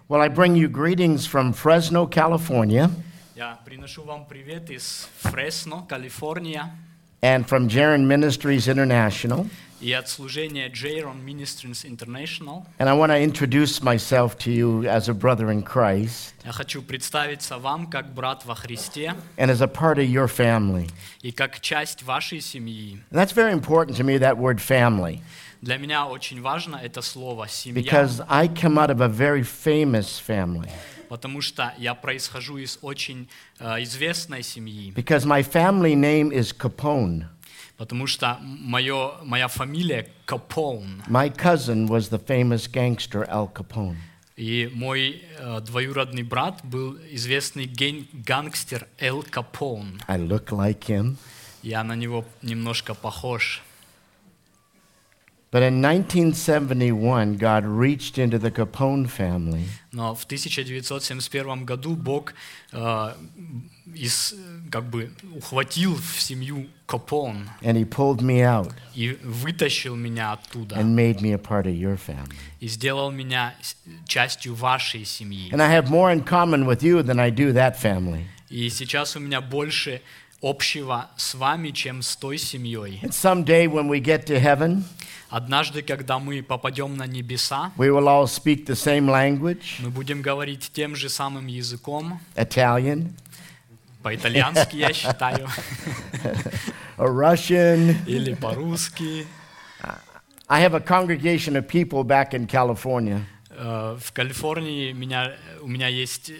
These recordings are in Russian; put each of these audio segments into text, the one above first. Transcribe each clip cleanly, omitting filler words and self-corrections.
Well, I bring you greetings from Fresno, California, Я приношу вам привет из Фресно, Калифорния, and from Jaron Ministries International. и от служения Jaron Ministries International. And I want to introduce myself to you as a brother in Christ Я хочу представиться вам как брат во Христе and as a part of your family. и как часть вашей семьи. And that's very important to me, that word family, Для меня очень важно это слово «семья», because I come out of a very famous family. потому что я происхожу из очень известной семьи, Because my family name is Capone. потому что моя фамилия Капоун, My cousin was the famous gangster Al Capone. и мой двоюродный брат был известный гангстер Эл Капоун. I look like him. Я на него немножко похож. But in 1971, God reached into the Capone family Но в 1971 году Бог ухватил в семью Капоун and he pulled me out и вытащил меня оттуда and made me a part of your family. и сделал меня частью вашей семьи. And I have more in common with you than I do that family. И сейчас у меня больше общего с вами, чем с той семьей. And someday when we get to heaven, Однажды, когда мы попадем на небеса, we will all speak the same language, мы будем говорить тем же самым языком, Italian, по-итальянски, я считаю, or Russian. или по-русски. I have a congregation of people back in California. В Калифорнии у меня есть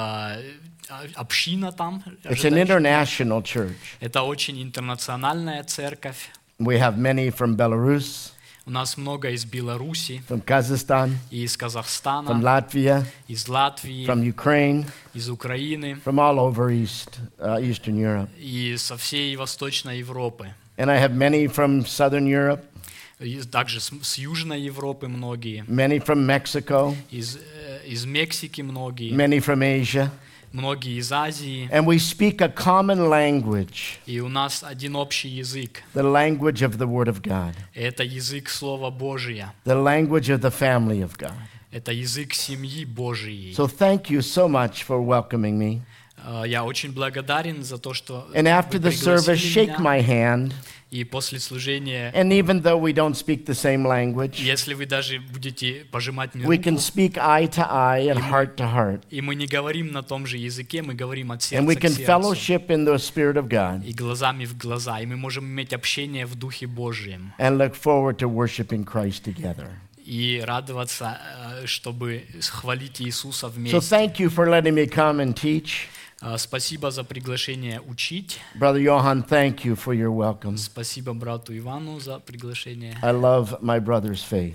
община там. It's an international church. Это очень интернациональная церковь. We have many from Belarus, У нас много из Беларуси, from Kazakhstan, и из from Казахстана, Latvia, из Латвии, from Ukraine, из Украины from all over Eastern Europe. и со всей Восточной Европы. And I have many from Southern Europe, И также с Южной Европы многие, many from Mexico, из Мексики многие, many from Asia. многие из Азии. And we speak a common language, И у нас один общий язык. the language of the Word of God, Это язык Слова Божия. the language of the family of God. Это язык семьи Божией. So thank you so much for welcoming me. Я очень благодарен за то, что And after вы the service, пригласили shake меня. my hand. И после служения, And even though we don't speak the same language, если вы даже будете пожимать мне we руку, can speak eye to eye and heart to heart. и мы не говорим на том же языке, мы говорим от And we сердца can к сердцу, fellowship in the Spirit of God и глазами в глаза, и мы можем иметь общение в Духе Божьем, and look forward to worshiping Christ together. и радоваться, чтобы хвалить Иисуса So вместе. thank you for letting me come and teach. Спасибо за приглашение учить. Brother Johan, thank you for your welcome. Спасибо брату Ивану за приглашение. I love my brother's faith.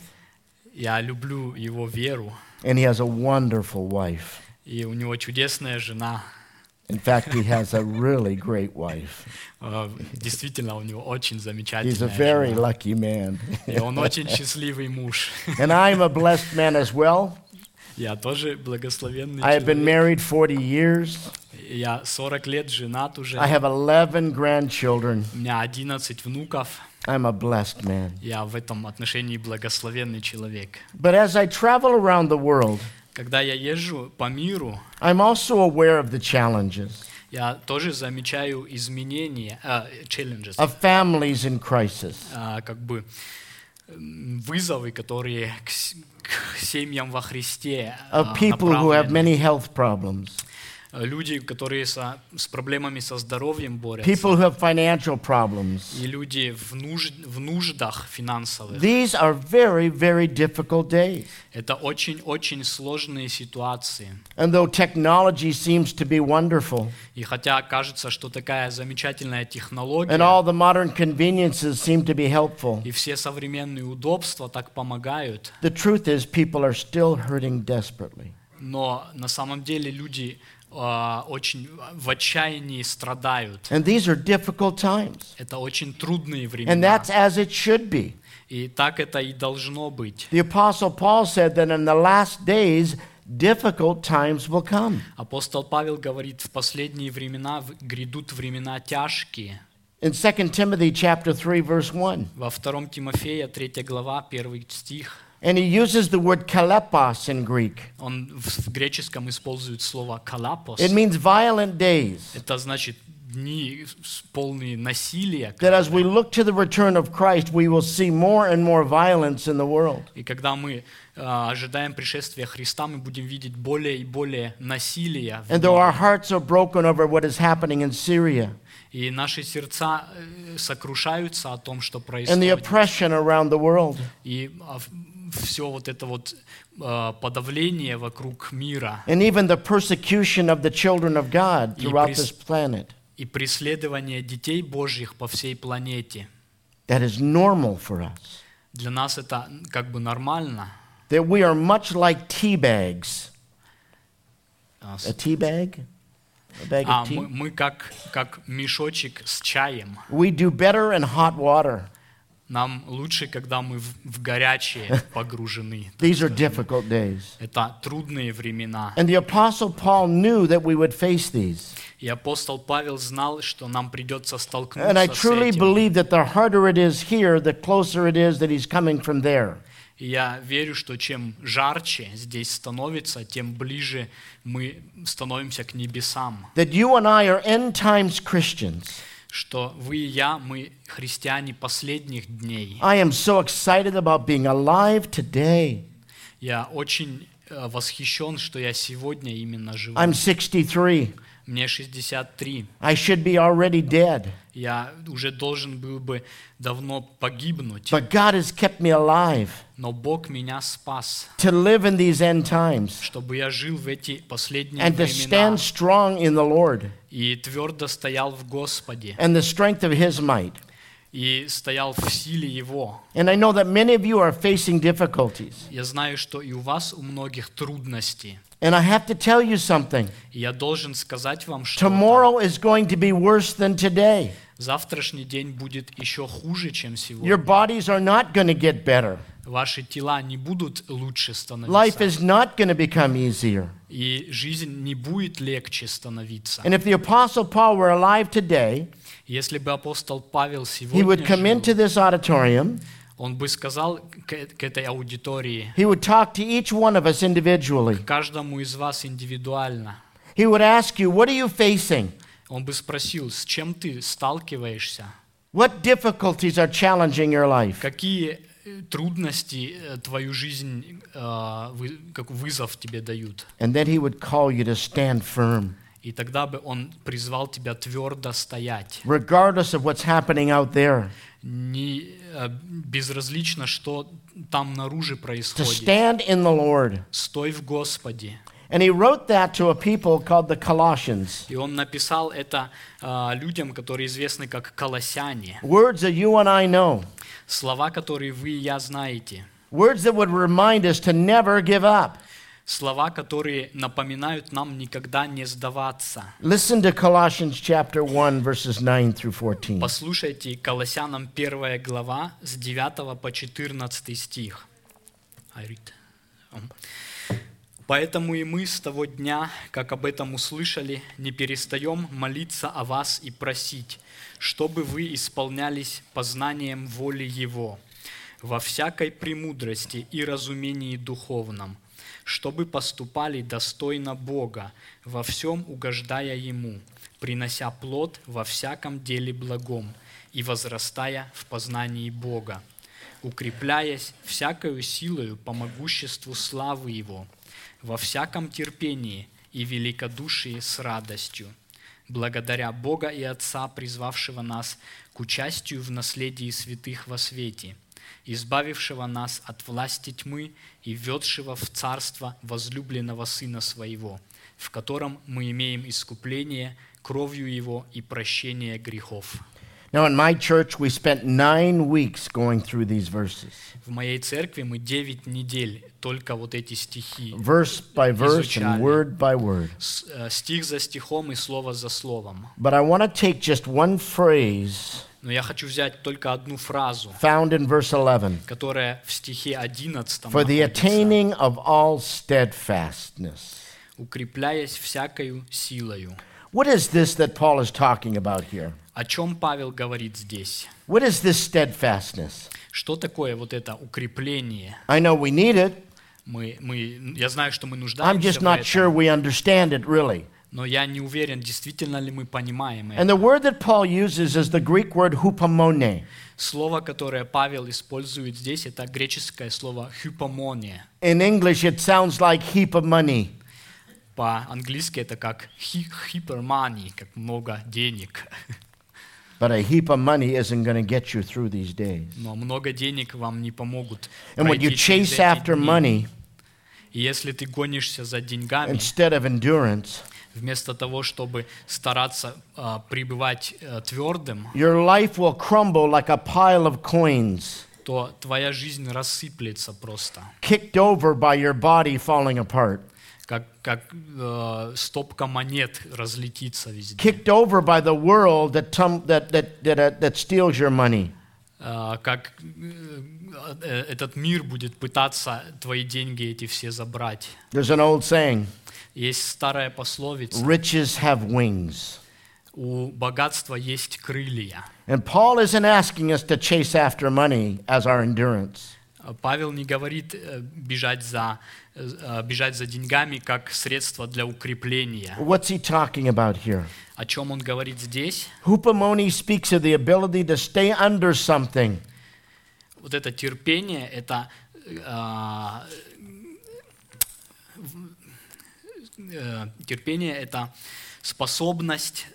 Я люблю его веру, And he has a wonderful wife. и у него чудесная жена. In fact, he has a really great wife. Действительно, у него очень He's a замечательная very жена. lucky man. И он очень счастливый муж. And I'm a blessed man as well. Я тоже благословенный I have been человек. married 40 years. Я 40 лет женат уже. I have 11 grandchildren. У меня 11 внуков. I'm a blessed man. Я в этом отношении благословенный человек. But as I travel around the world, Когда я езжу по миру, I'm also aware of the challenges я тоже замечаю изменения, challenges, of families in crisis. Вызовы, которые к семьям во Христе Of people who have направлены. many health problems, Люди, которые с проблемами со здоровьем борются, people who have financial problems. и люди в нуждах финансовых. These are very, very difficult days. Это очень-очень сложные ситуации. And though technology seems to be wonderful, И хотя кажется, что такая замечательная технология, and all the modern conveniences seem to be helpful, и все современные удобства так помогают, the truth is people are still hurting desperately. но на самом деле люди очень в отчаянии страдают. And these are difficult times. Это очень трудные And времена. that's as it should be. И так это и должно быть. The Apostle Paul said that in the last days, difficult times will come. Апостол Павел говорит, в последние времена грядут времена тяжкие. In 2 Timothy chapter 3, verse 1, Во 2 Тимофея, 3 глава, 1 стих. And he uses the word kalepos in Greek. Он в греческом использует слово «калапос». It means violent days. Это значит дни полные насилия. That as we look to the return of Christ, we will see more and more violence in the world. И когда мы ожидаем пришествия Христа, мы будем видеть более и более насилия. And though our hearts are broken over what is happening in Syria И наши сердца сокрушаются о том, что and the происходит. oppression around the world, И все вот это вот подавление вокруг мира and even the persecution of the children of God throughout this planet, и преследование детей Божьих по всей планете. that is normal for us. Для нас это как бы нормально. That we are much like tea bags. А, A tea bag? A bag of tea? мы как мешочек с чаем. We do better in hot water. Нам лучше, когда мы в горячее погружены. These are difficult days. Это трудные времена. And the Apostle Paul knew that we would face these. И апостол Павел знал, что нам придется столкнуться And I с truly этим. believe that the harder it is here, the closer it is that he's coming from there. И я верю, что чем жарче здесь становится, тем ближе мы становимся к небесам. That you and I are end times Christians. Что вы и я, мы христиане последних дней. I am so excited about being alive today. Я очень восхищен, что я сегодня именно живу. I'm 63. Мне 63. I should be already dead. Я уже должен был бы давно погибнуть. But God has kept me alive Но Бог меня спас, to live in these end times чтобы я жил в эти последние and to времена stand strong in the Lord и твердо стоял в Господе, and the strength of His might. и стоял в силе Его. And I know that many of you are facing difficulties. Я знаю, что и у вас у многих трудности. And I have to tell you something. И я должен сказать вам, что Tomorrow is going to be worse than today. завтрашний день будет еще хуже, чем Your сегодня. bodies are not going to get better. Ваши тела не будут лучше Life становиться. is not going to become easier. И жизнь не будет легче становиться. And if the Apostle Paul were alive today, Если бы апостол Павел he would come сегодня into жил, this auditorium, он бы сказал к этой аудитории, he would talk to each one of us individually. каждому из вас индивидуально. He would ask you, what are you facing? Он бы спросил, с чем ты сталкиваешься? What difficulties are challenging your life? Какие трудности твою жизнь, как вызов тебе дают? And then he would call you to stand firm, И тогда бы он призвал тебя твердо стоять. regardless of what's happening out there. Не безразлично, что там наружу To происходит. stand in the Lord. Стой в Господе. And he wrote that to a people called the Colossians. И он написал это людям, которые известны как колоссяне. Words that you and I know. Слова, которые вы и я знаете. Words that would remind us to never give up. Слова, которые напоминают нам никогда не сдаваться. Listen to Colossians chapter 1, verses 9 through 14. Послушайте Колоссянам 1 глава с 9 по 14 стих. «Поэтому и мы с того дня, как об этом услышали, не перестаем молиться о вас и просить, чтобы вы исполнялись познанием воли Его, во всякой премудрости и разумении духовном, чтобы поступали достойно Бога, во всем угождая Ему, принося плод во всяком деле благом и возрастая в познании Бога, укрепляясь всякою силою по могуществу славы Его, во всяком терпении и великодушии с радостью, благодаря Бога и Отца, призвавшего нас к участию в наследии святых во свете, избавившего нас от власти тьмы и введшего в царство возлюбленного Сына Своего, в котором мы имеем искупление кровью Его и прощение грехов». Now, in my church, we spent 9 weeks going through these verses, В моей церкви мы 9 недель только вот эти стихи, verse by verse and Изучали. word by word. Стих за стихом и слово за словом. But I want to take just one phrase Но я хочу взять только одну фразу, found in verse 11. которая в стихе 11 For the находится. attaining of all steadfastness. «Укрепляясь всякою силою». What is this that Paul is talking about here? О чем Павел говорит здесь? What is this steadfastness? Что такое вот это укрепление? I know we need it. Я знаю, что мы I'm нуждаемся just в not sure этом, we understand it really. но я не уверен, действительно ли мы понимаем And это. the word that Paul uses is the Greek word hupomone. Слово, которое Павел использует здесь, это греческое слово «hypomone». In English, it sounds like heap of money. По-английски это как hypermoney, как много денег. But a heap of money isn't going to get you through these days. Но много денег вам не помогут And when you пройти через chase эти after дни. money И если ты гонишься за деньгами, instead of endurance, вместо того, чтобы стараться пребывать твердым, your life will crumble like a pile of coins, то твоя жизнь рассыплется просто, kicked over by your body falling apart, как стопка монет разлетится везде. kicked over by the world that steals your money. Как этот мир будет пытаться твои деньги эти все забрать. There's an old saying, Есть старая пословица: riches have wings. у богатства есть крылья. And Paul isn't asking us to chase after money as our endurance. Павел не говорит бежать за деньгами как средство для укрепления. What's he talking about here? О чем он говорит здесь? Hupomone speaks of the ability to stay under something. Вот это терпение, это способность,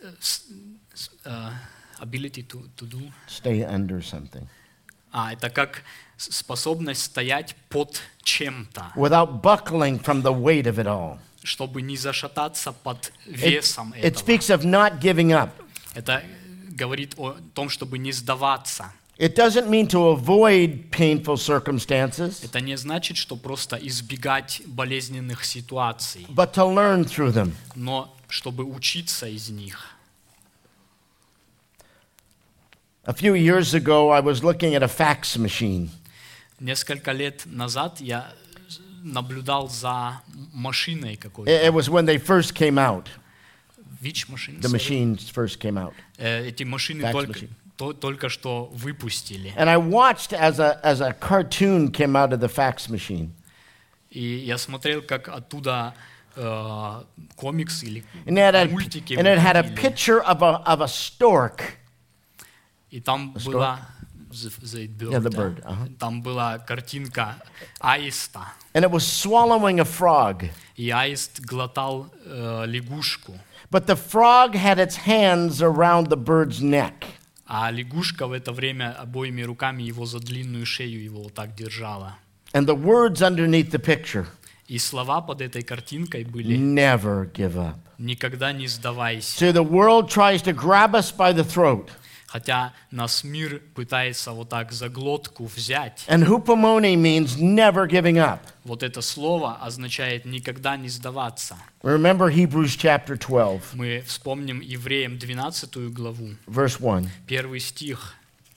ability to do. Stay under something. Это как способность стоять под чем-то, Without buckling from the weight of it all. чтобы не зашататься под весом It этого. speaks of not giving up. Это говорит о том, чтобы не сдаваться. It doesn't mean to avoid painful circumstances, Это не значит, что просто избегать болезненных ситуаций, but to learn through them. но чтобы учиться из них. A few years ago, I was looking at a fax machine. Несколько лет назад я наблюдал за машиной It какой-то. was when they first came out. Which machine? The machines first came out. Эти машины Fax только, machine. только что выпустили. And I watched as a cartoon came out of the fax machine. И я смотрел, как оттуда комикс или And мультики it had a выходили. picture of a stork. И там Что? была the bird, Yeah, the да. bird, ага. Там была картинка аиста, And it was swallowing a frog. и аист глотал лягушку, But the frog had its hands around the bird's neck. а лягушка в это время обоими руками его за длинную шею его вот так держала. And the words underneath the picture, И слова под этой картинкой были: never give up. «Никогда не сдавайся». See, the world tries to grab us by the throat. Хотя нас мир пытается вот так за глотку взять. And hupomone means never giving up. Вот это слово означает «никогда не сдаваться». Remember Hebrews chapter 12, Мы вспомним Евреям 12 главу, verse 1. 1 стих.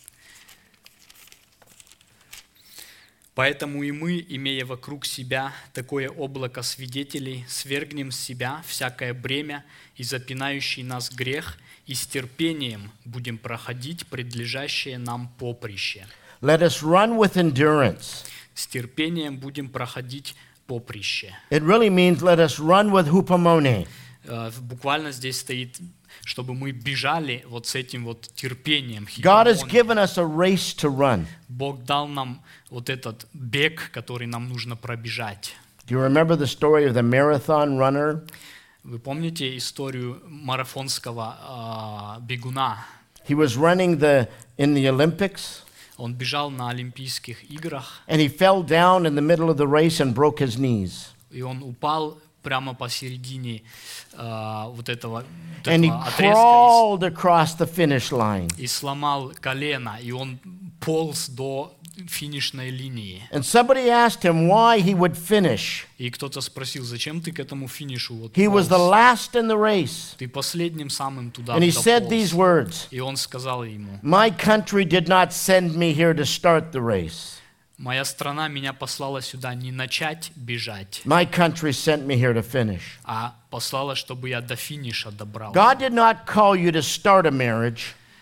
«Поэтому и мы, имея вокруг себя такое облако свидетелей, свергнем с себя всякое бремя и запинающий нас грех, и с терпением будем проходить предлежащее нам поприще». Let us run with endurance. С терпением будем проходить поприще. It really means let us run with hupomone. Буквально здесь стоит, чтобы мы бежали вот с этим вот терпением. God has хипомоне. given us a race to run. Бог дал нам вот этот бег, который нам нужно пробежать. Do you remember the story of the marathon runner? Вы помните историю марафонского бегуна? He was running in the Olympics, Он бежал на Олимпийских играх, and he fell down in the middle of the race and broke his knees. и он упал прямо посередине вот этого And he отрезка crawled across the finish line. и сломал колено, и он полз до финишной линии. And somebody asked him why he would finish. И кто-то спросил: зачем ты к этому финишу вот He was the полз? last in the race. Ты последним самым туда And he said дополз. these words, И он сказал ему: "My country did not send me here to start the race. моя страна меня послала сюда не начать бежать, My country sent me here to finish." а послала, чтобы я до финиша добрался. God did not call you to start a marriage.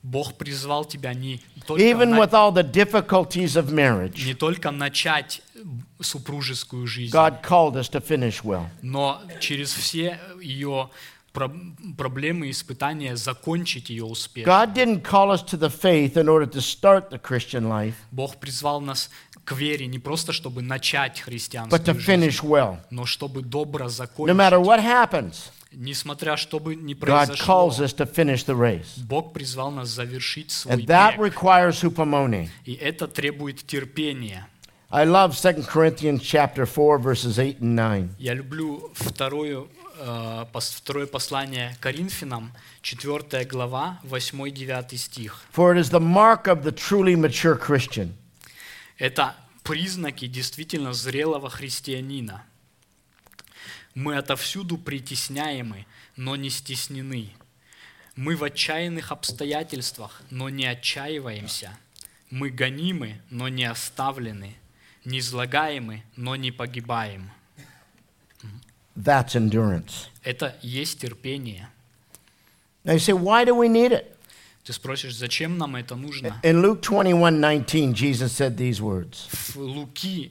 Бог призвал тебя не только, even with all the difficulties of marriage. не только начать супружескую жизнь, God called us to finish well. но через все ее проблемы и испытания закончить ее успешно. God didn't call us to the faith in order to start the Christian life, Бог призвал нас к вере не просто, чтобы начать but to христианскую жизнь, finish well. но чтобы добро No закончить. matter what happens, Несмотря что бы ни God произошло, calls us to finish the race. Бог призвал нас завершить свой And that бег. requires hupomone. И это требует терпения. I love 2 Corinthians chapter 4, verses 8 and 9. Я люблю второе послание Коринфянам, 4 глава, 8-9 стих. For it is the mark of the truly mature Christian Это признаки действительно зрелого христианина. Мы отовсюду притесняемы, но не стеснены. Мы в отчаянных обстоятельствах, но не отчаиваемся. Мы гонимы, но не оставлены. Низлагаемы, но не погибаем. That's endurance. Это есть терпение. Now you say, why do we need it? Ты спросишь, зачем нам это нужно? In Luke 21:19, Jesus said these words. В Луки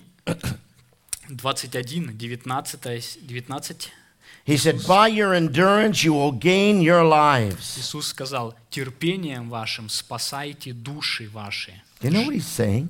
21, 19. He said, by your endurance you will gain your lives. Иисус сказал, терпением вашим спасайте души ваши. You know what he's saying?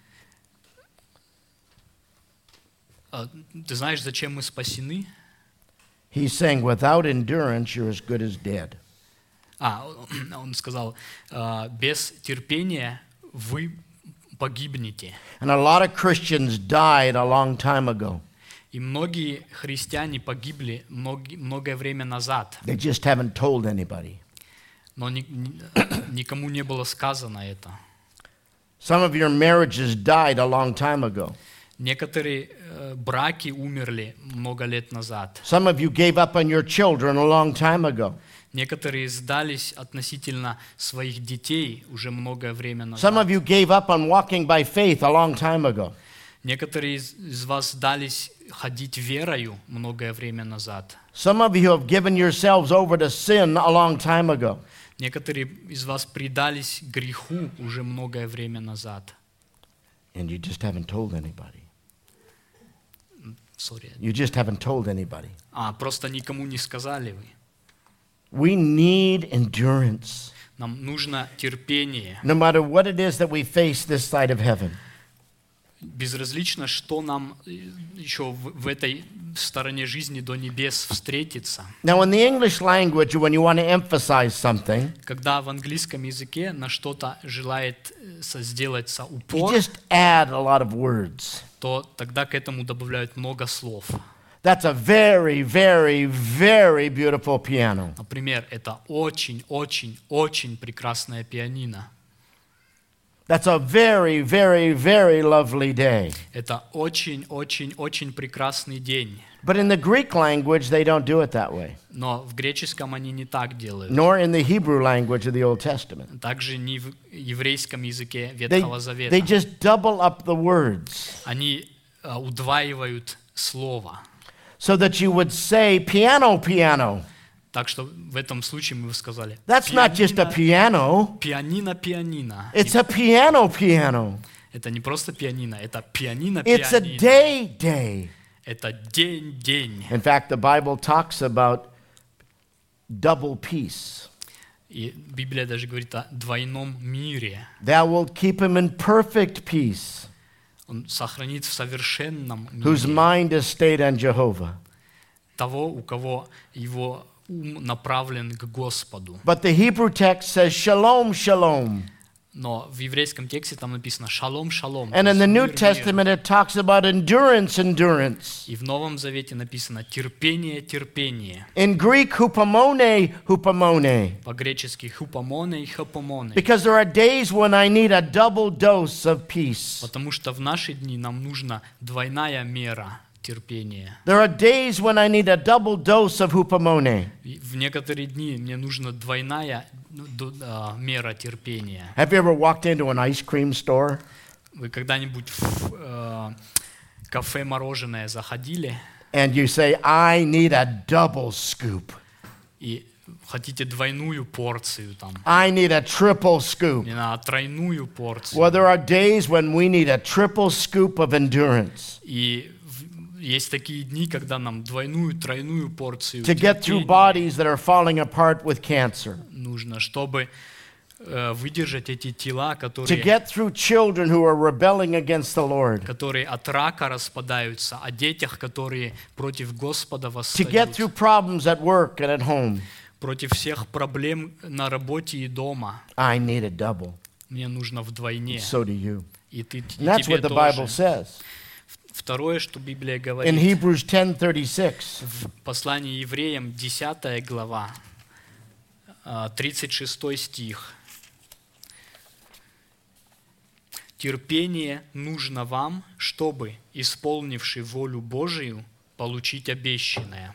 Ты знаешь, зачем мы спасены? He's saying, without endurance, you're as good as dead. Он сказал, без терпения вы погибнете. And a lot of Christians died a long time ago. И многие христиане погибли многое время назад, They just haven't told anybody. но никому не было сказано это. Some of your marriages died a long time ago. Некоторые браки умерли много лет назад. Some of you gave up on your children a long time ago. Некоторые сдались относительно своих детей уже многое время Some назад. of you gave up on walking by faith a long time ago. Некоторые из вас сдались ходить верою многое время назад. Some of you have given yourselves over to sin a long time ago. Некоторые из вас предались греху уже многое время назад. And you just haven't told anybody. Sorry. You just haven't told anybody. Просто никому не сказали вы. We need endurance. Нам нужно терпение. No matter what it is that we face this side of heaven. Безразлично, что нам еще в этой стороне жизни до небес встретится. Now, in the English language, when you want to emphasize something, Когда в английском языке на что-то желает сделать you упор, just add a lot of words. то тогда к этому добавляют много слов. That's a very, very, very beautiful piano. Например, это очень, очень, очень прекрасная пианино. That's a very, very, very lovely day. Это очень, очень, очень прекрасный день. But in the Greek language, they don't do it that way, Но в греческом они не так делают. nor in the Hebrew language of the Old Testament. Также не в еврейском языке They Ветхого Завета. just double up the words Они удваивают слово. so that you would say piano, piano. Так что в этом случае мы бы сказали That's not just a piano. пианино, пианино. It's a piano, piano. Это не просто пианино, это пианино, It's a пианино. day, day. Это день, день. In fact, the Bible talks about double peace. И Библия даже говорит о двойном мире. Thou wilt keep him in perfect peace, Он сохранит в совершенном whose мире mind is stayed on Jehovah. того, у кого его ум направлен к Господу. But the Hebrew text says shalom, shalom. Но в еврейском тексте там написано «шалом, шалом». And то in есть the New мир, мир. Testament, it talks about endurance, endurance. И в Новом Завете написано «терпение, терпение». In Greek, hupomone, hupomone. По-гречески «хупомоне» и «хопомоне». Because there are days when I need a double dose of peace. Потому что в наши дни нам нужна двойная мера терпения. There are days when I need a double dose of hupomone. И в некоторые дни мне нужна двойная мера терпения. Have you ever walked into an ice cream store? Вы когда-нибудь в кафе мороженое заходили, And you say, I need a double scoop. и хотите двойную порцию, там, I need a triple scoop. мне надо тройную порцию. Well, there are days when we need a triple scoop of endurance И есть такие дни, когда нам двойную, тройную порцию to get through терпения bodies that are falling apart with cancer, нужно, чтобы выдержать эти тела, to которые get through children who are rebelling against the Lord, от рака распадаются, о детях, которые против Господа to get восстают, through problems at work and at home. против всех проблем на работе и дома. I need a double. Мне нужно вдвойне. So do you. И And that's тебе what the Bible тоже. says. Второе, что Библия In говорит, Hebrews 10:36, в послании евреям, 10 глава, 36 стих. «Терпение нужно вам, чтобы, исполнивши волю Божию, получить обещанное».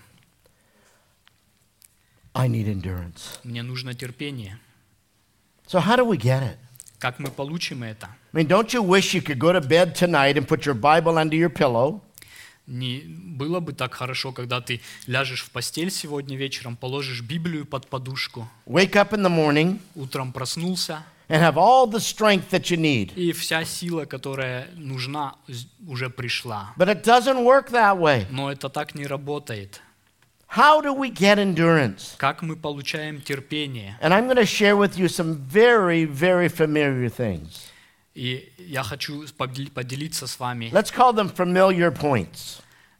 I need endurance. Мне нужно терпение. So how do we get it? Как мы получим это? I mean, don't you wish you could go to bed tonight and put your Bible under your pillow Не было бы так хорошо, когда ты ляжешь в постель сегодня вечером, положишь Библию под подушку, wake up in the morning, утром проснулся, and have all the strength that you need? и вся сила, которая нужна, уже пришла. But it doesn't work that way. Но это так не работает. How do we get endurance? Как мы получаем терпение? And I'm going to share with you some very, very familiar things. И я хочу поделиться с вами Let's call them familiar points.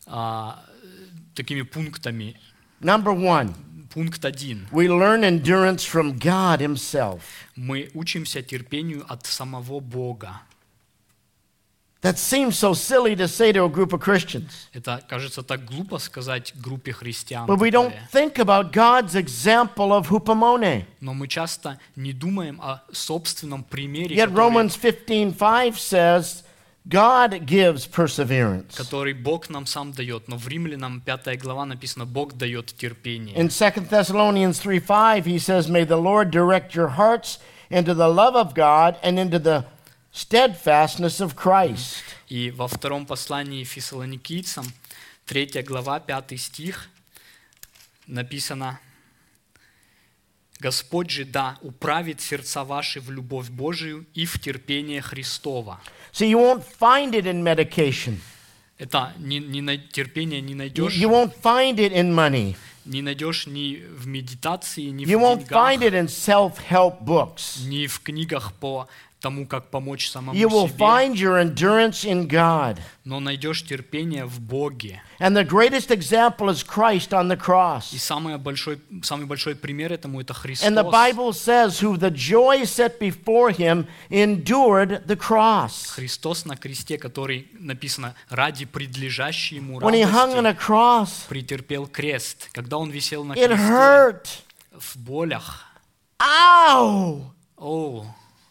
такими пунктами. Number one, Пункт 1. we learn endurance from God Himself. Мы учимся терпению от самого Бога. That seems so silly to say to a group of Christians. Это кажется так глупо сказать группе христиан. But we don't такое. think about God's example of hupomone. Но мы часто не думаем о собственном примере, Yet Romans 15:5 says God gives perseverance. который Бог нам сам дает. Но в Римлянам 5 глава написано, Бог дает терпение. In 2 Thessalonians 3:5 he says, may the Lord direct your hearts into the love of God and into the steadfastness of Christ. И во втором послании Фессалоникийцам, 3 глава, 5 стих, написано, «Господь же да управит сердца ваши в любовь Божию и в терпение Христова». See, you won't find it in medication. Это терпение не найдешь, You won't find it in money. не найдешь ни в медитации, ни в You won't find деньгах, it in self-help books. ни в книгах по тому, как помочь самому You will себе, find your endurance in God. но найдешь терпение в Боге. And the greatest example is Christ on the И cross. самый большой пример этому это Христос. And the Bible says, who the joy set before him endured the cross. Христос на кресте, который написано ради предлежащей ему When he hung on a радости, cross, претерпел крест. Когда он висел на it кресте hurt. в болях, Ow! о,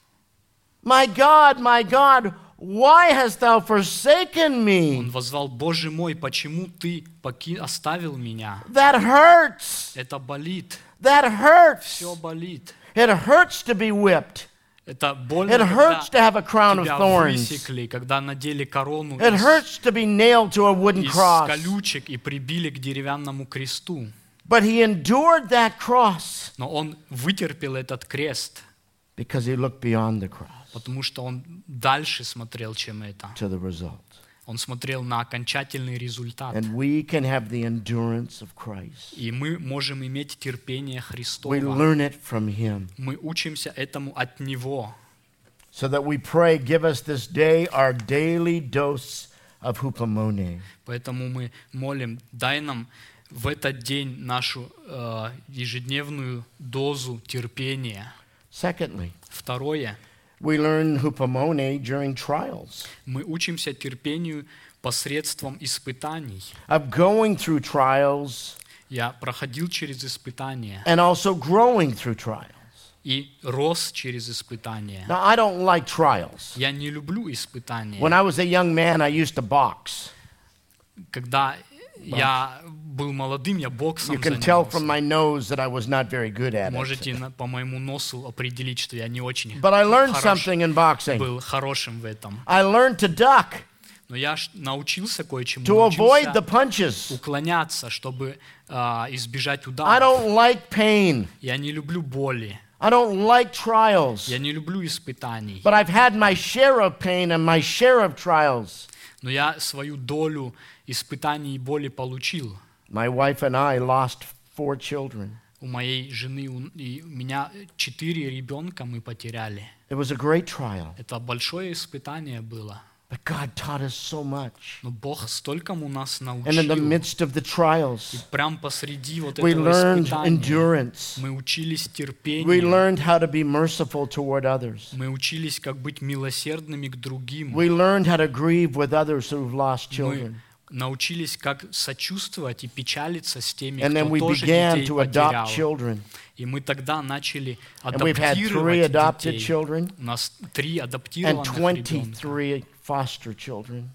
My God, why hast thou forsaken me? он воззвал: Боже мой, почему ты оставил меня? That hurts. Это болит, That hurts. все болит. It hurts to be whipped. Это больно, It hurts to когда have a crown of тебя thorns. высекли, когда надели корону It hurts to be nailed to a wooden из cross. колючек и прибили к деревянному кресту. But he endured that cross Но он вытерпел этот крест, because he looked beyond the cross потому что он дальше смотрел, чем это. to the result. Он смотрел на окончательный результат. And we can have the endurance of Christ. И мы можем иметь терпение We Христово. learn it from him. Мы учимся этому от Него. So that we pray, give us this day our daily dose of hupomone. Поэтому мы молим, дай нам в этот день нашу ежедневную дозу терпения. Secondly, Второе. we learn hupomone during trials, Мы учимся терпению посредством испытаний. of going through trials Я проходил через испытания and also growing through trials. и рос через испытания. Now, I don't like trials. Я не люблю испытания. When I was a young man, I used to box. Когда я был молодым, я боксом You can tell занимался. from my nose that I was not very good at it. Можете по моему носу определить, что я не очень But I learned something in boxing. был хорошим в этом. I learned to duck. Но я научился кое-чему, to avoid the научился punches. уклоняться, чтобы избежать I ударов. don't like pain. Я не люблю боли, I don't like trials. я не люблю испытаний. But I've had my share of pain and my share of trials. Но я свою долю испытаний и боли получил. My wife and I lost 4 children. У моей жены и у меня 4 ребенка мы потеряли. It was a great trial. Это большое испытание было. But God taught us so much. Но Бог столькому нас And in the научил. midst of the trials, Прям посреди вот we этого learned испытания endurance. мы учились We терпению. learned how to be merciful toward others. Мы учились, как быть милосердными к другим. We learned how to grieve with others who've lost Мы children. научились, как сочувствовать и печалиться с теми, And then кто we тоже began детей to adopt потерял. children. И мы тогда начали And we've had 3 адаптировать adopted детей. children У нас 3 and адаптированных ребенка. 23 foster children.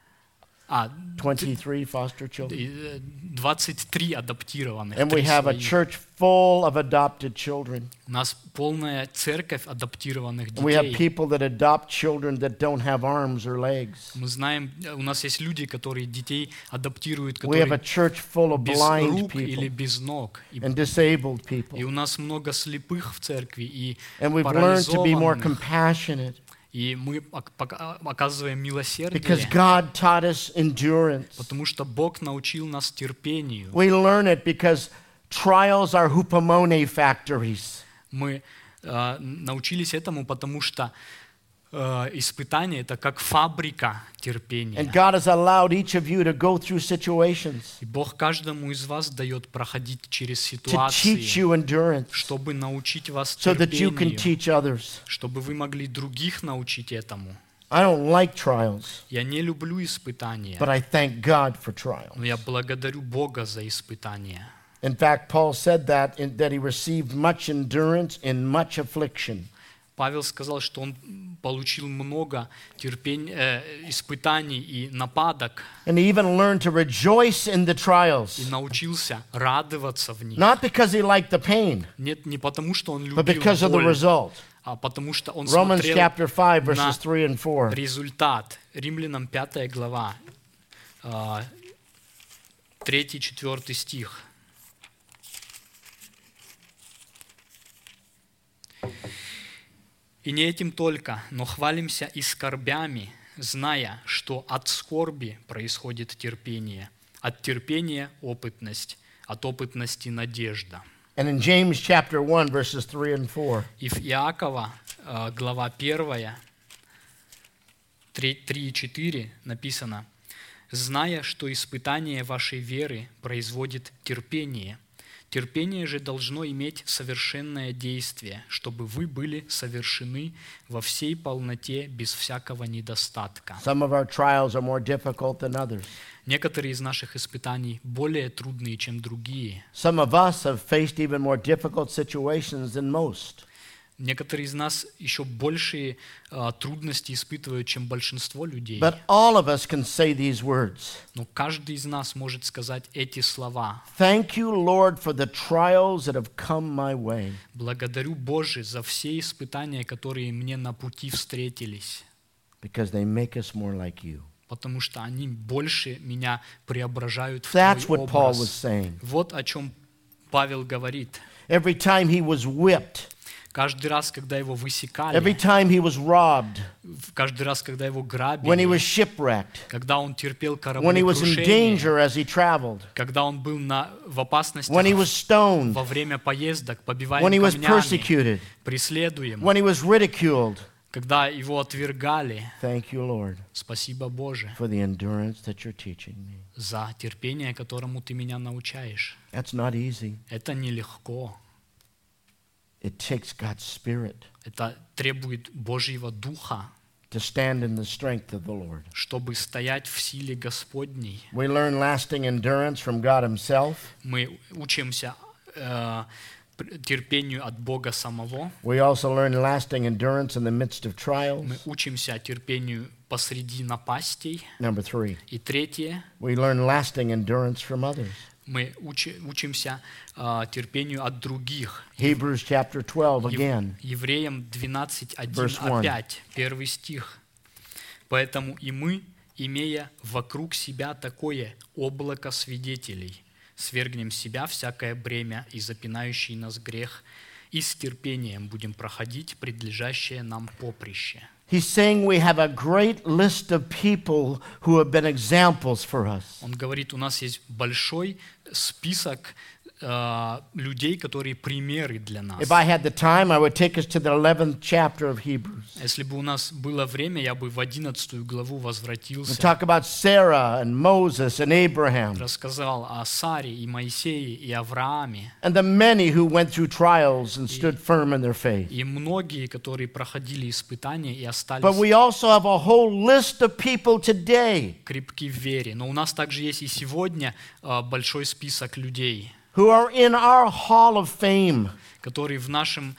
23 foster children. 23 адаптированных. And we 3 have a своих. church full of adopted children. У нас полная церковь адаптированных And we have детей. people that adopt children that don't have arms or legs. Мы знаем, у нас есть люди, которые детей адаптируют, We have a которые church full of без blind рук или people без ног. and disabled И people. у нас много слепых в церкви и And we've learned to be more парализованных. compassionate И мы оказываем because милосердие, God taught us endurance. потому что Бог научил нас терпению. We learn it because trials are hupomone factories. Мы научились этому, потому что испытание — это как фабрика And терпения. God has allowed each of you to go through situations И Бог каждому из вас дает проходить через to teach ситуации, you endurance чтобы научить вас so that you can терпению, teach others. чтобы вы могли других научить этому. I don't like trials, Я не люблю испытания, but I thank God for trials. но я благодарю Бога за испытания. In fact, Paul said that he received much endurance in much affliction. Павел сказал, что он получил много испытаний и нападок, And he even learned to rejoice in the и trials, научился радоваться в них. not because he liked the pain, Нет, не потому, что он but любил because of the боль, result. а потому что он Romans смотрел chapter 5, на verses 3 and 4. результат. Римлянам 5 глава, 3-4 стих. «И не этим только, но хвалимся и скорбями, зная, что от скорби происходит терпение, от терпения – опытность, от опытности – надежда». And in James chapter 1, verses 3 and 4. И в Иакова, глава 1, 3 и 4 написано: «Зная, что испытание вашей веры производит терпение, терпение же должно иметь совершенное действие, чтобы вы были совершены во всей полноте, без всякого недостатка». Some of our trials are more difficult than others. Некоторые из наших испытаний более трудные, чем другие. Some of us have faced even more difficult situations than most. Некоторые из нас еще большие трудности испытывают, чем большинство людей. But all of us can say these words. Но каждый из нас может сказать эти слова: Thank you, Lord, for the trials that have come my way. «Благодарю, Боже, за все испытания, которые мне на пути встретились, Because they make us more like you. потому что они больше меня преображают в That's Твой what Paul was образ». saying. Вот о чем Павел говорит. Every time he was whipped, Каждый раз, когда его every высекали, time he was robbed, каждый раз, когда его when he грабили, was shipwrecked, когда он терпел when he was in кораблекрушение, danger as he traveled, когда он был в опасности when he was stoned, во время поездок, побиваем when he was камнями, persecuted, преследуем, when he was ridiculed. когда его отвергали. Thank you, Lord, Спасибо, Боже, for the endurance that you're teaching me. за терпение, которому Ты меня научаешь. That's not easy. Это нелегко. It takes God's Spirit Это требует Божьего Духа, to stand in the strength of the Lord. чтобы стоять в силе Господней. We learn lasting endurance from God Himself. Мы учимся терпению от Бога самого. We also learn lasting endurance in the midst of trials. Мы учимся терпению посреди напастей. Number 3, И третье, we learn lasting endurance from others. мы учимся терпению от других. Hebrews chapter 12 again. Евреям 12:1 Verse 1. опять, 1 стих. «Поэтому и мы, имея вокруг себя такое облако свидетелей, свергнем с себя всякое бремя и запинающий нас грех, и с терпением будем проходить предлежащее нам поприще». He's saying we have a great list of people who have been examples for us. Он говорит, у нас есть большой список людей, которые примеры для нас. If I had the time, I would take us to the 11th chapter of Hebrews. Если бы у нас было время, я бы в 11 главу We возвратился, talk about Sarah and Moses and Abraham рассказал о Саре и Моисее и Аврааме, and the many who went through trials and stood firm in their faith. и многие, которые проходили испытания и But остались we also have a whole list of people today крепки в вере. Но у нас также есть и сегодня большой список людей, who are in our hall of fame которые в нашем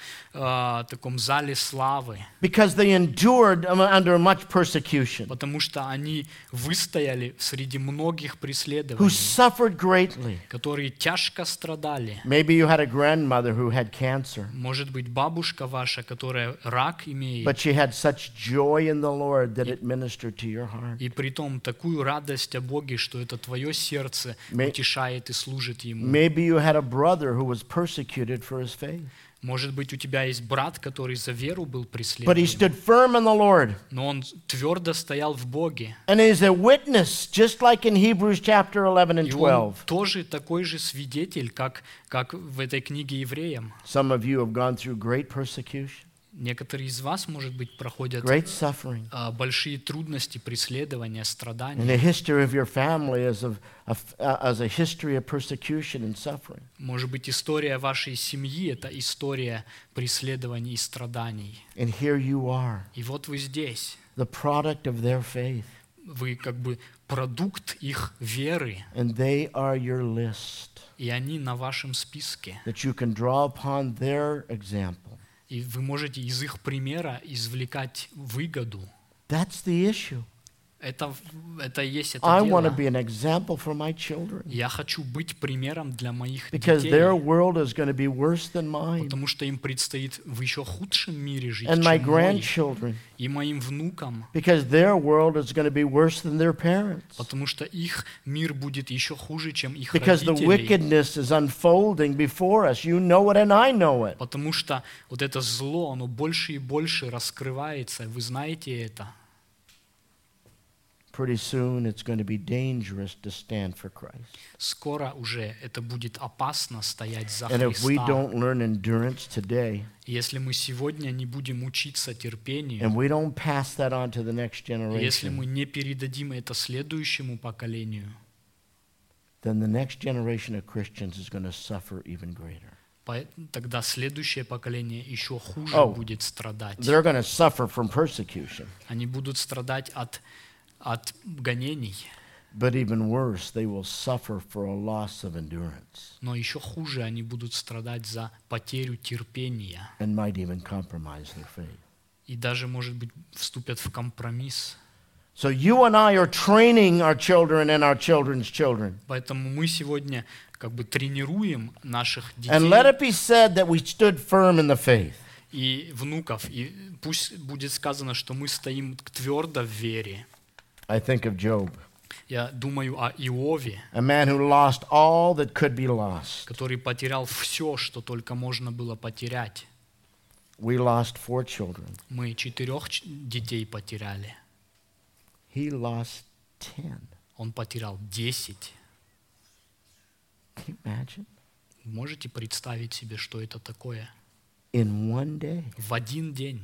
таком зале славы, because they endured under much persecution, потому что они выстояли среди многих who преследований, suffered greatly. которые тяжко страдали. Maybe you had a grandmother who had cancer, Может быть, бабушка ваша, которая рак имеет, but she had such joy in the Lord that it ministered to your heart. и притом такую радость о Боге, что это твое сердце утешает и служит Ему. Maybe you had a brother who was persecuted for his faith, Может быть, у тебя есть брат, который за веру был but he преследован, stood firm in the Lord. но он твердо стоял в Боге. And is a witness, just like in Hebrews chapter 11 and И он 12. тоже такой же свидетель, как в этой книге Евреям. Some of you have gone through great persecution, Некоторые из вас, может быть, проходят great suffering. большие трудности, преследования, And страдания. the history of your family is as a history of persecution and suffering. Может быть, история вашей семьи – это история преследований и страданий. And here you are, И вот вы здесь. the product of their faith, Вы как бы продукт их веры, and they are your list и они на вашем списке. that you can draw upon their example. И вы можете из их примера извлекать выгоду. That's the issue. Это и есть это I want to дело. be an example for my children Я хочу быть примером для моих because детей, their world is going to be worse than mine, потому что им предстоит в еще худшем мире жить, and my чем мой, grandchildren и моим внукам, because their world is going to be worse than their parents. потому что их мир будет еще хуже, чем их Because the родителей. wickedness is unfolding before us. You know it and I know it. Потому что вот это зло, оно больше и больше раскрывается, вы знаете это. Pretty soon it's going to be dangerous to stand for Christ. Скоро уже это будет опасно стоять за And if we Христа. don't learn endurance today, Если мы сегодня не будем учиться терпению, and we don't pass that on to the next если мы generation, не передадим это следующему поколению, then the next generation of Christians is going to suffer even greater. тогда следующее поколение еще хуже Oh, будет страдать. They're going to suffer from persecution. Они будут страдать от гонений, But even worse, they will suffer for a loss of endurance но еще хуже они будут страдать за потерю терпения and might even compromise their faith. и даже, может быть, вступят в компромисс. So you and I are training our children and our children's children. Поэтому мы сегодня как бы тренируем наших And let детей it be said that we stood firm in the faith. и внуков, и пусть будет сказано, что мы стоим твердо в вере. I think of Job, Я думаю о Иове, a man who lost all that could be lost. который потерял все, что только можно было потерять. We lost 4 children. Мы 4 детей потеряли. He lost 10. Он потерял 10. Can you imagine? Можете представить себе, что это такое? In one day. В один день.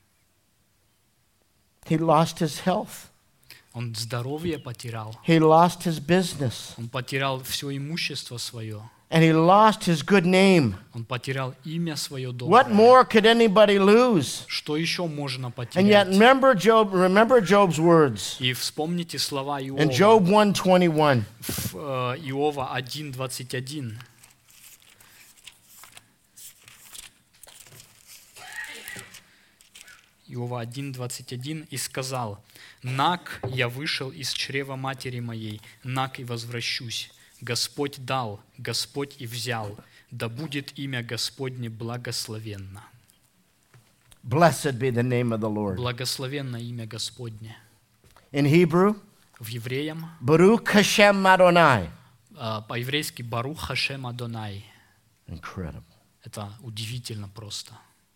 He lost his health. Он здоровье потерял. He lost his business. Он потерял все имущество свое. And he lost his good name. Он потерял имя свое What доброе. more could anybody lose? Что еще можно And yet потерять? remember Job's words. И вспомните слова In Иова. Job 1:21. В Иова 1:21. Иова 1:21 и сказал: «Нак я вышел из чрева матери моей, нак и возвращусь. Господь дал, Господь и взял, да будет имя Господне благословенно». Blessed be the name of the Lord. Благословенно имя Господне. In Hebrew, в Евреям, Baruch Hashem Adonai. по-еврейски Барух Хашем Адонай. Incredible. Это удивительно просто.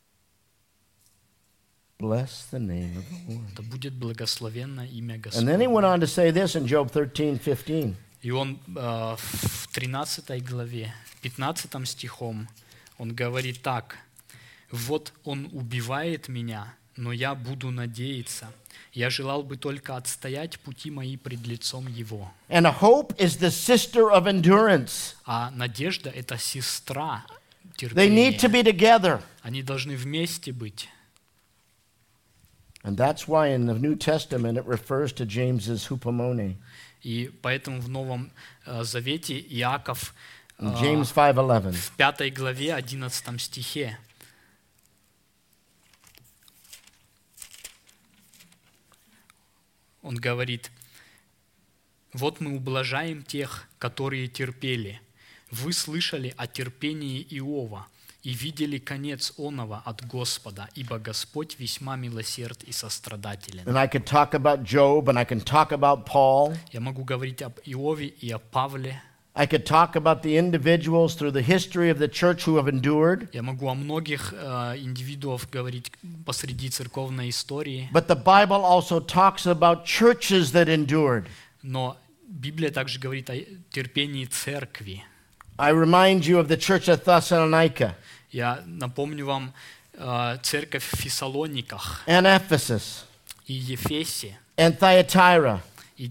Bless the name of the Lord. Да будет благословенно имя And then he Господне. went on to say this in Job 13:15. И он в 13 главе, 15 стихом, он говорит так: «Вот он убивает меня, но я буду надеяться. Я желал бы только отстоять пути мои пред лицом его». And hope is the sister of endurance. А надежда – это сестра They need to терпения. be together. Они должны вместе быть. And that's why in the New Testament it refers to James's hupomone. И поэтому в Новом Завете Иаков In James 5:11. в 5 главе, 11 стихе, он говорит: «Вот мы ублажаем тех, которые терпели. Вы слышали о терпении Иова и видели конец оного от Господа, ибо Господь весьма милосерд и сострадателен». And I could talk about Job and I can talk about Paul. Я могу говорить об Иове и о Павле. I could talk about the individuals through the history of the church who have endured. Я могу о многих индивидуах говорить посреди церковной истории. But the Bible also talks about churches that endured. Но Библия также говорит о терпении церкви. I remind you of the church at Thessalonica Я напомню вам церковь в Фессалониках and Ephesus и Ефесе, and Thyatira и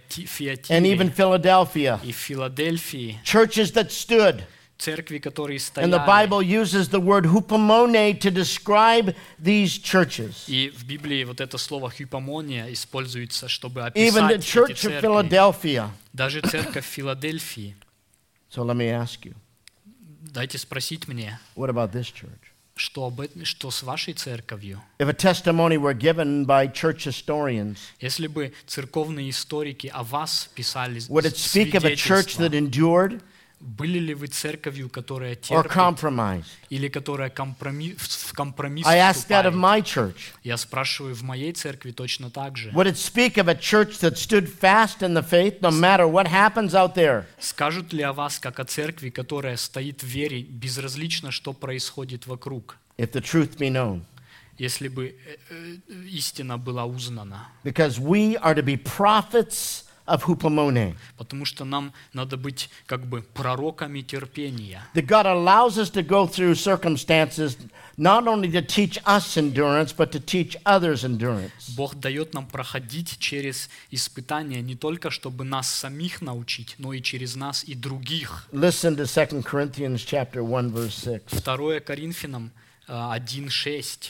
and even Фиатире, Philadelphia. и Филадельфии, Churches that stood. церкви, которые And the стояли. Bible uses the word hupomone to describe these churches. И в Библии вот это слово «хипомония» используется, чтобы Even the описать эти church of церкви. Philadelphia. Даже церковь Филадельфии. So let me ask you, Дайте спросить мне, what about this church? что с вашей церковью? If a testimony were given by church historians, Если бы церковные историки о вас писали would it speak of a church свидетельства, that endured были ли вы церковью, которая or терпит, compromised? или которая в компромисс I ask that of вступает? my church. Я спрашиваю в моей церкви точно так же. Would it speak of a church that stood fast in the faith no matter what happens out there? Скажут ли о вас, как о церкви, которая стоит в вере, безразлично, что происходит вокруг, If the truth be known. если бы истина была узнана? Because we are to be prophets of hupomone. Потому что нам надо быть как бы пророками терпения. That God allows us to go through circumstances not only to teach us endurance, but to teach others endurance. Бог дает нам проходить через испытания не только, чтобы нас самих научить, но и через нас и других. Listen to 2 Corinthians chapter 1, verse 6. 2 Коринфянам 1:6.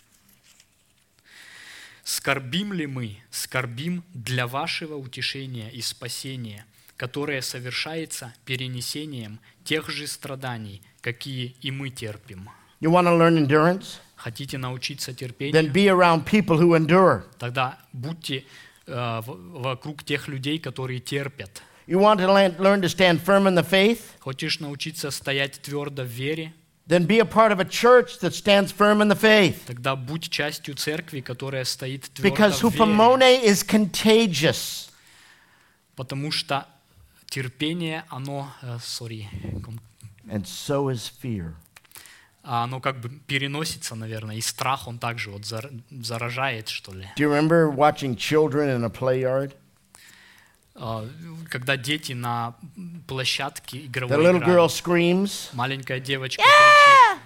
«Скорбим ли мы? Скорбим для вашего утешения и спасения, которое совершается перенесением тех же страданий, какие и мы терпим». You want to learn endurance? Хотите научиться Then терпению? be around people who endure. Тогда будьте вокруг тех людей, которые терпят. You want to learn to stand firm in the faith? Хочешь научиться стоять твердо в вере? Then be a part of a church that stands firm in the faith. Тогда будь частью церкви, которая стоит твердо Because в вере. hupomone is contagious. Потому что терпение, оно, And so is fear. оно как бы переносится, наверное, и страх, он также вот заражает, что ли. Do you remember watching children in a play yard? Когда дети на площадке The игровой little girl играют, screams. маленькая девочка кричит: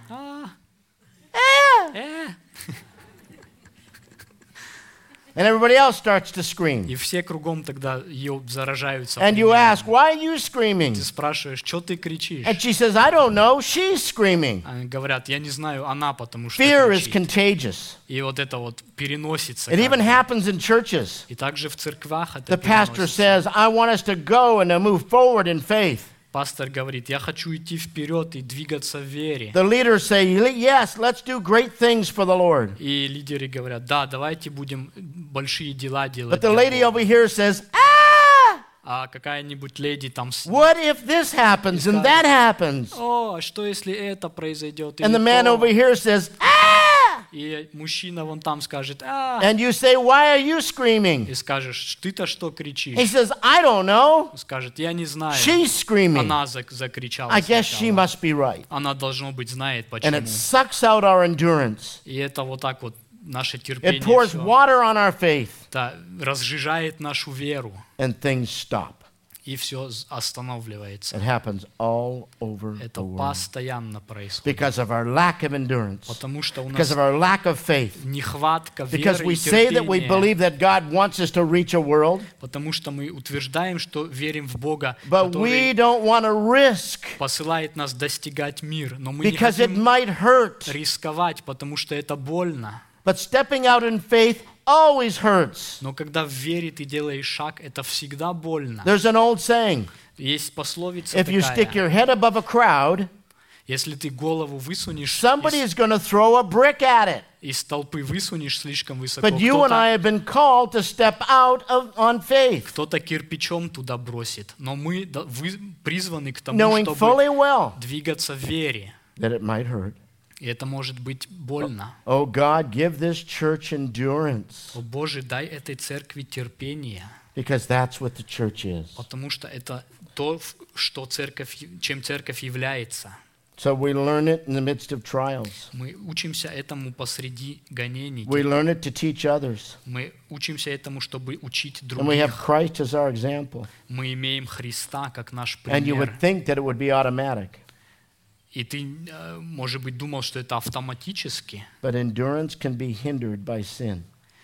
And everybody else starts to scream. и все кругом тогда ее заражаются. And you примерно. ask, why are you screaming? Ты спрашиваешь, что ты кричишь? And she says, I don't know, she's screaming. Они говорят, я не знаю, она потому что Fear is кричит. contagious. И вот это вот переносится. It как even бы. happens in churches. И также в церквах это The pastor переносится. says, I want us to go and to move forward in faith. Пастор говорит, я хочу идти вперед и двигаться в вере. The leaders say, yes, let's do great things for the Lord. И лидеры говорят, да, давайте будем большие дела делать. But the для lady Бога». over here says, А какая-нибудь леди там, what if this happens and that happens? о, что если это произойдет? And или the man то?» over here says, И мужчина вон там скажет, And you say, why are you screaming? и скажешь, ты-то что He кричишь? says, I don't know. Скажет, я не знаю. She's screaming. Она закричала I guess she сначала. must be right. Она, должно быть, знает And почему. it sucks out our endurance. И это вот так вот наше It терпение pours всё, water on our faith, это разжижает нашу веру, and things stop. и все останавливается. It happens all over Это the world постоянно происходит. because of our lack of endurance, Потому что у because нас of our lack of faith, нехватка because веры we и say that we терпения. believe that God wants us to reach a world, Потому что мы утверждаем, что верим в Бога, but we который don't want to risk посылает нас достигать мир. Но мы не because it хотим might hurt. рисковать, потому что это больно. But stepping out in faith always hurts. Но когда в вере ты делаешь шаг, это всегда больно. There's an old saying, Есть пословица if you stick такая. your head above a crowd, Если ты голову высунешь somebody is going to throw a brick at it. из толпы высунешь слишком высоко, But you and I have been called to step out on faith, кто-то кирпичом туда бросит. Но мы призваны к тому, knowing чтобы fully well двигаться в вере. that it might hurt. И это может быть больно. Oh God, give this church endurance, О Боже, дай этой церкви терпение, because that's what the church is. потому что это то, что чем церковь является. So we learn it in the midst of trials. Мы учимся этому посреди гонений. We learn it to teach others. Мы учимся этому, чтобы учить And we have других. Christ as our example. Мы имеем Христа как наш And you пример. would think that it would be automatic. И ты, может быть, думал, что это автоматически, But endurance can be hindered by sin.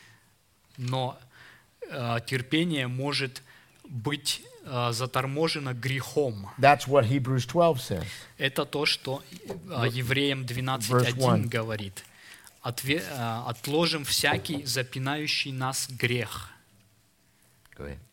но терпение может быть заторможено грехом. That's what Hebrews 12 says. Это то, что Евреям Verse 12:1 1. говорит. Отложим всякий запинающий нас грех. Go ahead.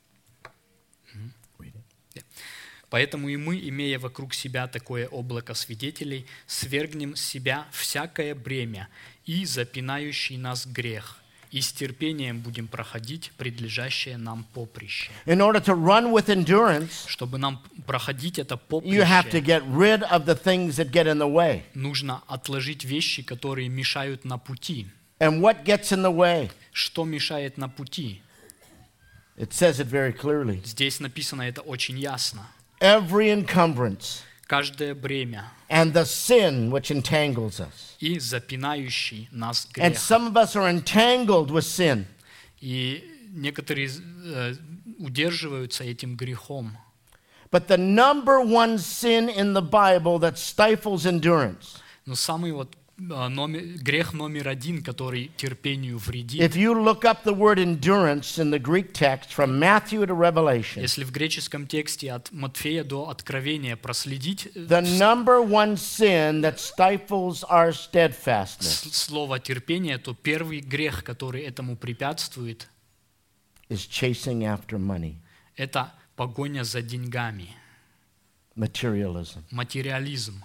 Поэтому и мы, имея вокруг себя такое облако свидетелей, свергнем с себя всякое бремя и запинающий нас грех, и с терпением будем проходить предлежащее нам поприще. In order to run with endurance, Чтобы нам проходить это you have to поприще, get rid of the things that get in the way. нужно отложить вещи, которые мешают на пути. And what gets in the way? Что мешает на пути? It says it very clearly. Здесь написано это очень ясно. Every encumbrance Каждое бремя and the sin which entangles us. и запинающий нас And грех. some of us are entangled with sin. И некоторые удерживаются этим грехом. But the number one sin in the Bible that stifles endurance, Но самый грех номер один, который терпению вредит, if you look up the word endurance in the Greek text from Matthew to Revelation, если в греческом тексте от Матфея до Откровения проследить the number one sin that stifles our steadfastness слово терпение, то первый грех, который этому препятствует, is chasing after money, это погоня за деньгами, materialism. материализм.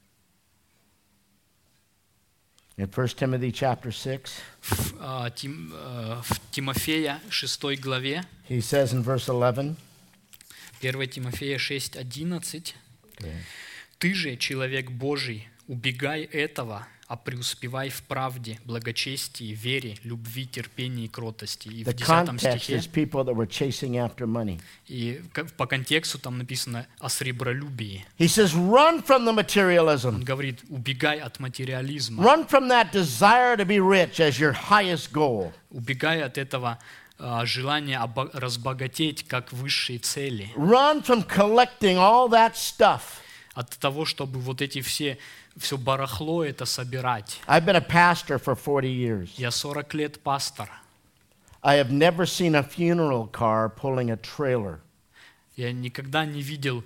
In 1 Timothy chapter 6, В Тимофея 6 главе, he says in verse 11, 1 Тимофея 6:11, okay, «Ты же, человек Божий, убегай этого, а преуспевай в правде, благочестии, вере, любви, терпении и кротости». И в the 10 context стихе, is people that were chasing after money. и по контексту там написано о сребролюбии. He says, run from the Он materialism. говорит, убегай от материализма, Run from that desire to be rich as your highest goal. убегай от этого желания разбогатеть как высшей цели, Run from collecting all that stuff. от того, чтобы вот эти все барахло это собирать. I've been a pastor for 40 years. Я 40 лет пастор. I have never seen a funeral car pulling a trailer. Я никогда не видел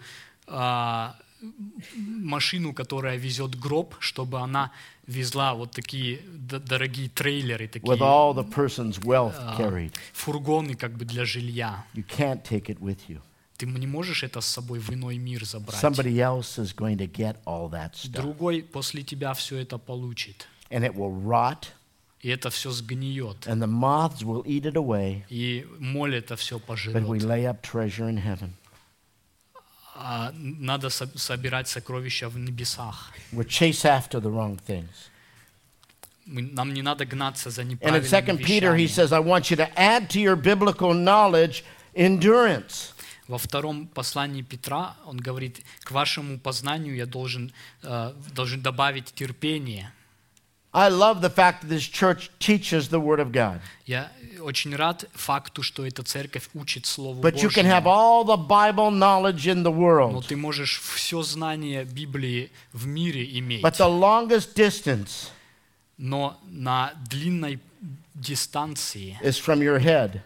машину, которая везет гроб, чтобы она везла вот такие дорогие трейлеры, такие With all the person's wealth carried. фургоны как бы для жилья. You can't take it with you. Ты не можешь это с собой в иной мир забрать. Somebody else is going to get all that stuff. Другой после тебя все это получит. And it will rot, И это все сгниет. and the moths will eat it away, И моль это все but we пожрет. lay up treasure in heaven. А надо собирать сокровища в небесах. We chase after the wrong things. Нам не надо гнаться за And in неправильными 2 Peter, he вещами. says, I want you to add to your biblical knowledge endurance. Во втором послании Петра он говорит, к вашему познанию я должен добавить терпение. I love the fact that this church teaches the Word of God. Я очень рад факту, что эта церковь учит Слову But you can have Божьему. all the Bible knowledge in the Но world. ты можешь все знание Библии в мире иметь. But the longest distance Но на длинной дистанции, is from your head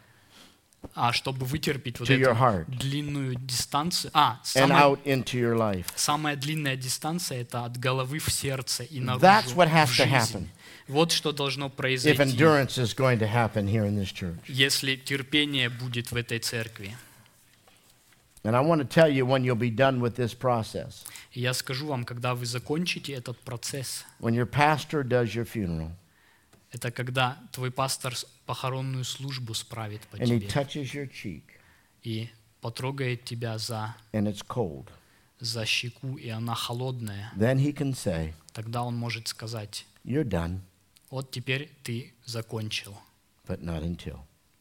чтобы вытерпеть вот to your эту heart длинную дистанцию, and out into your life. самая длинная дистанция это от головы в сердце и наружу That's what has в to жизнь. happen Вот что должно if произойти, endurance is going to happen here in this church. если терпение будет в этой церкви. And I want to tell you when you'll be done with this process. И я скажу вам, когда вы закончите этот процесс, When your pastor does your funeral это когда твой пастор похоронную службу справит по and he тебе touches your cheek и потрогает тебя за and it's cold, щеку, и она холодная, then he can say, тогда он может сказать, you're done, вот теперь ты закончил, but not until.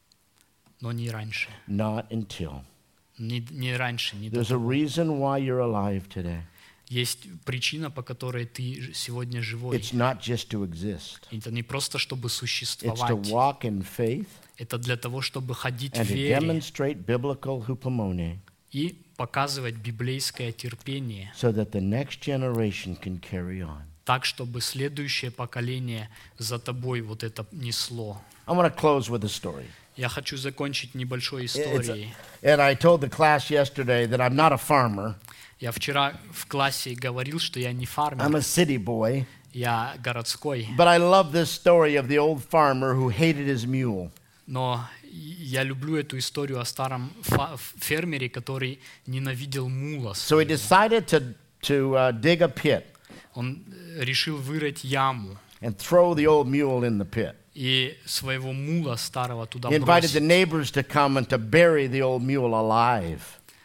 но не раньше. Not until. Не раньше, не до There's a reason why you're alive today. Есть причина, по которой ты сегодня живой. It's not just to exist. Это не просто, чтобы It's to существовать. walk in faith Это для того, чтобы ходить в and to вере demonstrate biblical hupomone и показывать библейское терпение, so that the next generation can carry on. так, чтобы следующее поколение за тобой вот это несло. I want to close with a story. Я хочу закончить небольшой историей. And I told the class yesterday that I'm not a farmer. Я вчера в классе говорил, что я не I'm фармер, a city boy. я городской. But I love this story of the old farmer who hated his mule. Но я люблю эту историю о старом фермере, который ненавидел мула So he своего. decided to dig a pit Он решил вырыть яму and throw the old mule in the pit. и своего мула старого туда He invited the бросить. neighbors to come and to bury the old mule alive.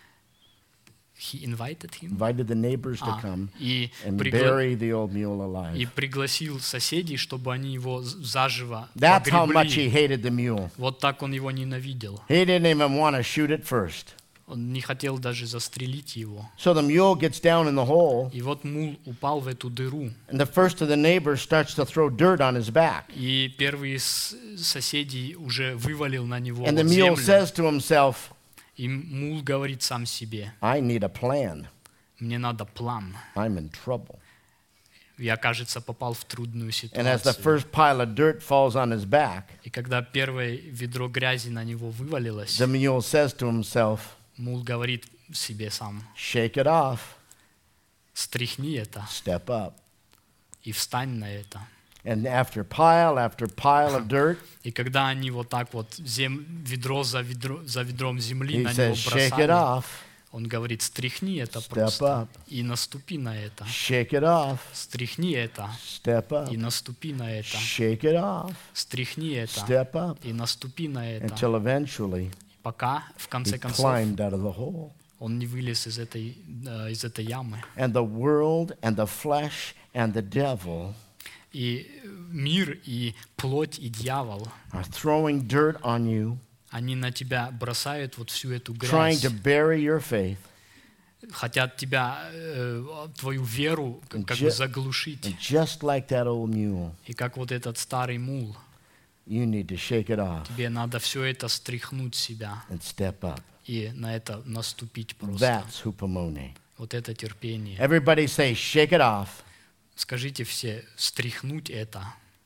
He invited him. Invited the neighbors to come И and bury the old mule и alive. пригласил соседей, чтобы они его заживо That's how much he погребли. hated the mule. Вот так он его ненавидел. He didn't even want to shoot it first. Он не хотел даже застрелить его. So the mule gets down in the hole, И вот мул упал в эту дыру. and the first of the neighbors starts to throw dirt on his back. И первый из соседей уже вывалил на него And the вот mule землю. says to himself, И мул говорит сам себе, I need a plan. мне надо план. I'm in trouble. Я, кажется, попал в трудную And as the ситуацию. first pile of dirt falls on his back, И когда первое ведро грязи на него вывалилось, the mule says to himself, мул говорит себе сам, shake it off, стряхни это step up. и встань на это. And after pile of dirt, И когда они вот так вот ведро за ведром земли he на него says, shake it бросали, off, он говорит, стряхни это step просто up, и наступи на это. shake it off, Стряхни это step up, и наступи на это. shake it off, Стряхни это step up, и наступи на это. until eventually Пока, в he конце концов, climbed out of the hole. он не вылез из этой ямы. And the world and the flesh and the devil И мир, и плоть, и дьявол, are throwing dirt on you, они на тебя бросают вот всю эту trying грязь, to bury your faith. хотят тебя, твою веру как бы заглушить. And just like that old mule, И как вот этот старый мул, you need to shake it off тебе надо все это стряхнуть с себя and step up. и на это наступить просто. That's hupomone. Вот это терпение. Everybody say, shake it off, Скажите все, стряхнуть это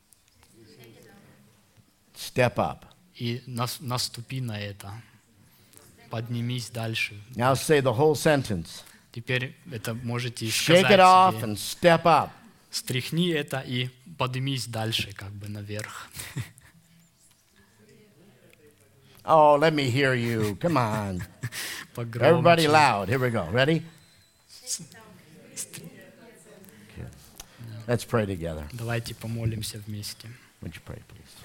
step up. и наступи на это. Поднимись дальше. Now say the whole sentence. Теперь это можете Shake сказать it off себе. and step up. Стряхни это и поднимись дальше, как бы наверх. Oh, let me hear you. Come on. Погромче. Everybody loud. Here we go. Ready? Okay. Let's pray together. Давайте помолимся вместе. Would you pray, please?